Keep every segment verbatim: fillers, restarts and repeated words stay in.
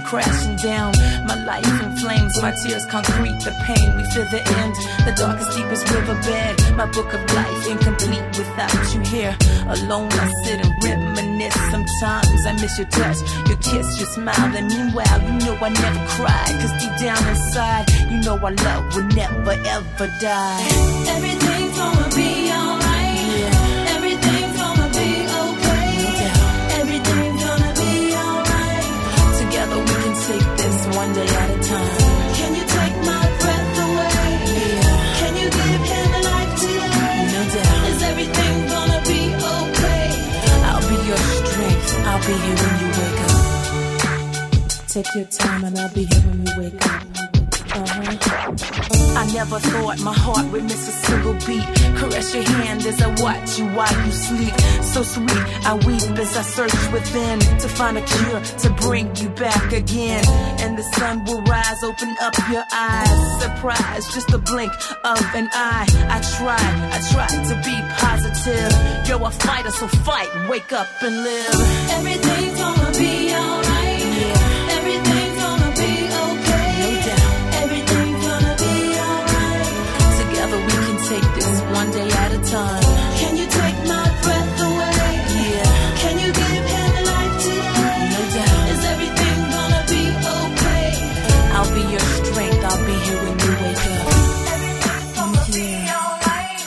crashing down. My life in flames, my tears concrete, the pain, we feel the end. The darkest, deepest riverbed, my book of life incomplete without you here. Alone I sit and reminisce. Sometimes I miss your touch, your kiss, your smile. And meanwhile, you know I never cried, cause deep down inside, you know our love will never ever die. Everything's gonna be alright. Yeah. Everything's gonna be okay. Yeah. Everything's gonna be alright. Together we can take this one day at a time. Can you take my breath away? Yeah. Can you give him a life today? No doubt. Is everything gonna be okay? I'll be your strength, I'll be here when you wake up. Take your time and I'll be here when you wake up. Uh-huh. I never thought my heart would miss a single beat. Caress your hand as I watch you while you sleep. So sweet, I weep as I search within to find a cure to bring you back again. And the sun will rise, open up your eyes. Surprise, just a blink of an eye. I try, I try to be positive. You're a fighter, so fight, wake up and live. Everything's gonna be alright. Yeah. Everything's gonna be okay. No doubt. Everything's gonna be alright. Together we can take this one day at a time. Can you take my breath away? Yeah. Can you give him a life today? No doubt. Is everything gonna be okay? I'll be your strength, I'll be here when you wake up. Everything's gonna be alright.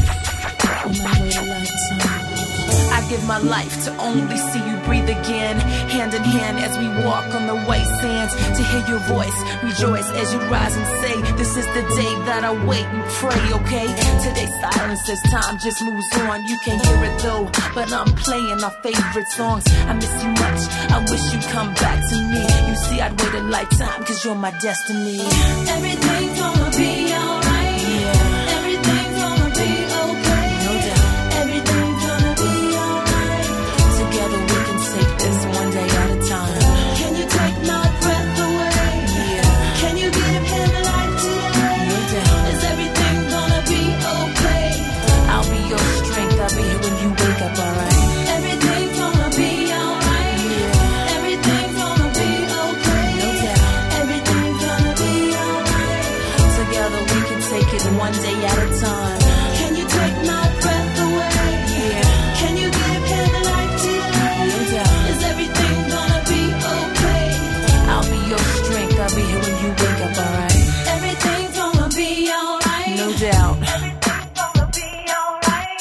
On my way to lifetime. I give my life to only see you breathe again. Hand in hand as we walk on the white sands. To hear your voice, rejoice as you rise and say, this is the day that I wait and pray, okay? Today's silence as time just moves on. You can't hear it though, but I'm playing our favorite songs. I miss you much, I wish you'd come back to me. You see, I'd wait a lifetime, cause you're my destiny. Everything's gonna be alright. Yeah. Everything's gonna be okay. No doubt. Everything's gonna be alright. Together we can take this one day at a time. Can you take my breath away? Yeah. Can you give him a life today? No doubt. Is everything gonna be okay? I'll be your strength, I'll be here when you wake up, alright? Everything's gonna be alright. Yeah. Everything's gonna be okay. No doubt. Everything's gonna be alright. Together we can take it one day at a time. Can you take my breath away? Yeah. Can you give him a life today? No doubt. Is everything gonna be okay? I'll be your strength, I'll be here when you wake up, alright? Everything's gonna be alright. No doubt. Everything's gonna be alright.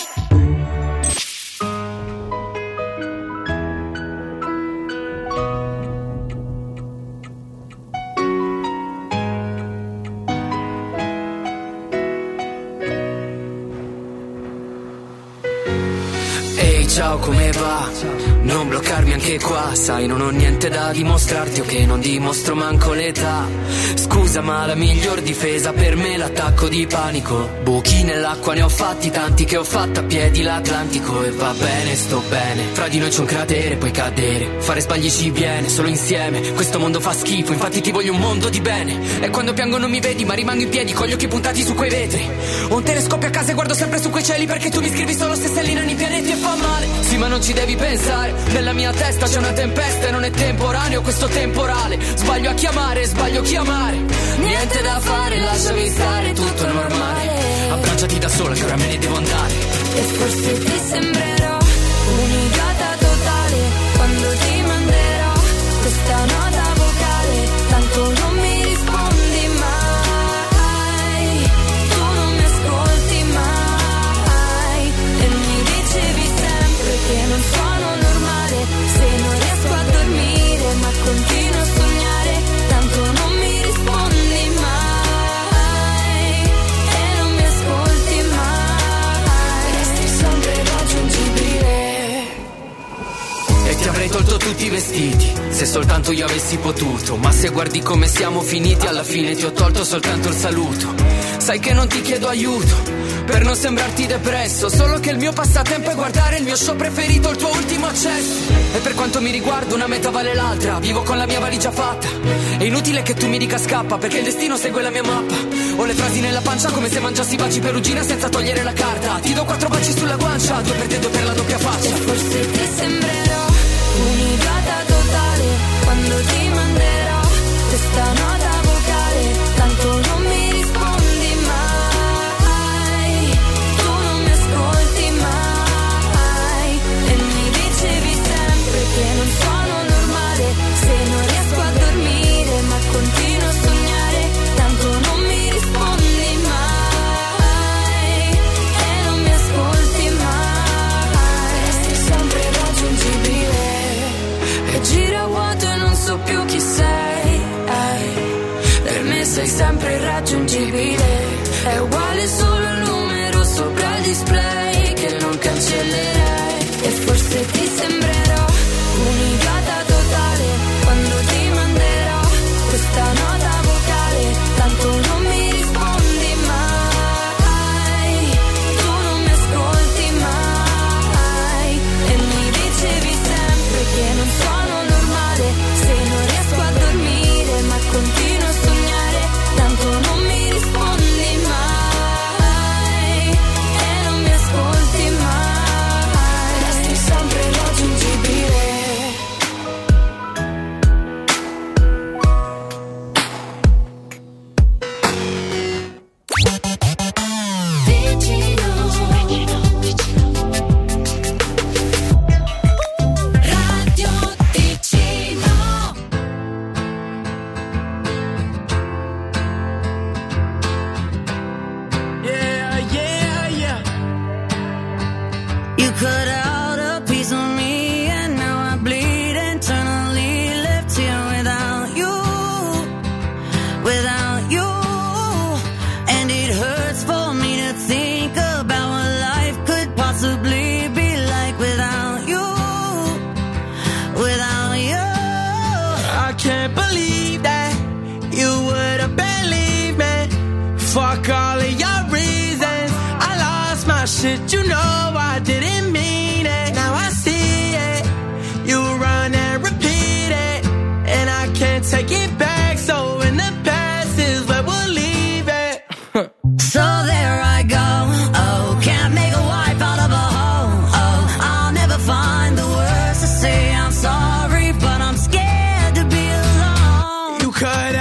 Ehi, ciao, come va? Non bloccarmi anche qua, sai, non ho niente da dimostrarti, o che non dimostro manco l'età. Scusa, ma la miglior difesa per me è l'attacco di panico. Buchi nell'acqua ne ho fatti tanti, che ho fatto a piedi l'Atlantico. E va bene, sto bene, fra di noi c'è un cratere, puoi cadere. Fare sbagli ci viene, solo insieme. Questo mondo fa schifo, infatti ti voglio un mondo di bene. E quando piango non mi vedi, ma rimango in piedi con gli occhi puntati su quei vetri. Ho un telescopio a casa e guardo sempre su quei cieli, perché tu mi scrivi solo se stellina nei pianeti e fa male. Sì, ma non ci devi pensare, nella mia testa c'è una tempesta e non è temporaneo questo temporale. Sbaglio a chiamare, sbaglio a chiamare. Niente da fare, lasciami stare, tutto è normale. Abbracciati da sola che ora me ne devo andare. E forse ti sembrerò un'idiota totale quando ti manderò questa nota vocale. Tanto non mi rispondi mai, tu non mi ascolti mai. E mi dicevi sempre che non sono normale se non riesco a dormire, ma continuo a sognare. Tanto non mi rispondi mai e non mi ascolti mai. Resti sempre irraggiungibile. E ti avrei tolto tutti i vestiti, se soltanto io avessi potuto. Ma se guardi come siamo finiti, alla fine ti ho tolto soltanto il saluto. Sai che non ti chiedo aiuto per non sembrarti depresso, solo che il mio passatempo è guardare il mio show preferito, il tuo ultimo accesso. E per quanto mi riguarda una meta vale l'altra, vivo con la mia valigia fatta. È inutile che tu mi dica scappa, perché il destino segue la mia mappa. Ho le frasi nella pancia come se mangiassi baci perugina senza togliere la carta. Ti do quattro baci sulla guancia, due per te, due per la doppia faccia. E forse ti sembrerò un'idiota totale quando ti manderò sei sempre irraggiungibile. È uguale solo il numero sopra il display che non cancellerei. E forse ti sembrerò un'idiota totale quando ti manderò questa nota vocale. Tanto non mi rispondi mai, tu non mi ascolti mai. E mi dicevi sempre che non sono normale se non riesco a dormire, ma continuo a sognare. Tanto non mi rispondi mai e non mi ascolti mai. Resti sempre irraggiungibile. Vicino, Radio Ticino. Yeah, yeah, yeah. You cut out a piece of me and now I bleed internally, left here without you, without you. And it hurts for me to think about what life could possibly be like without you, without you. I can't believe that you would have believed me. Fuck all of your reasons. I lost my shit, you know I didn't mean it. Now I see it. You run and repeat it, and I can't take it back. So in the past is where we'll leave it. So there I go, oh, can't make a wife out of a hoe, oh, I'll never find the words to say I'm sorry, but I'm scared to be alone. You cut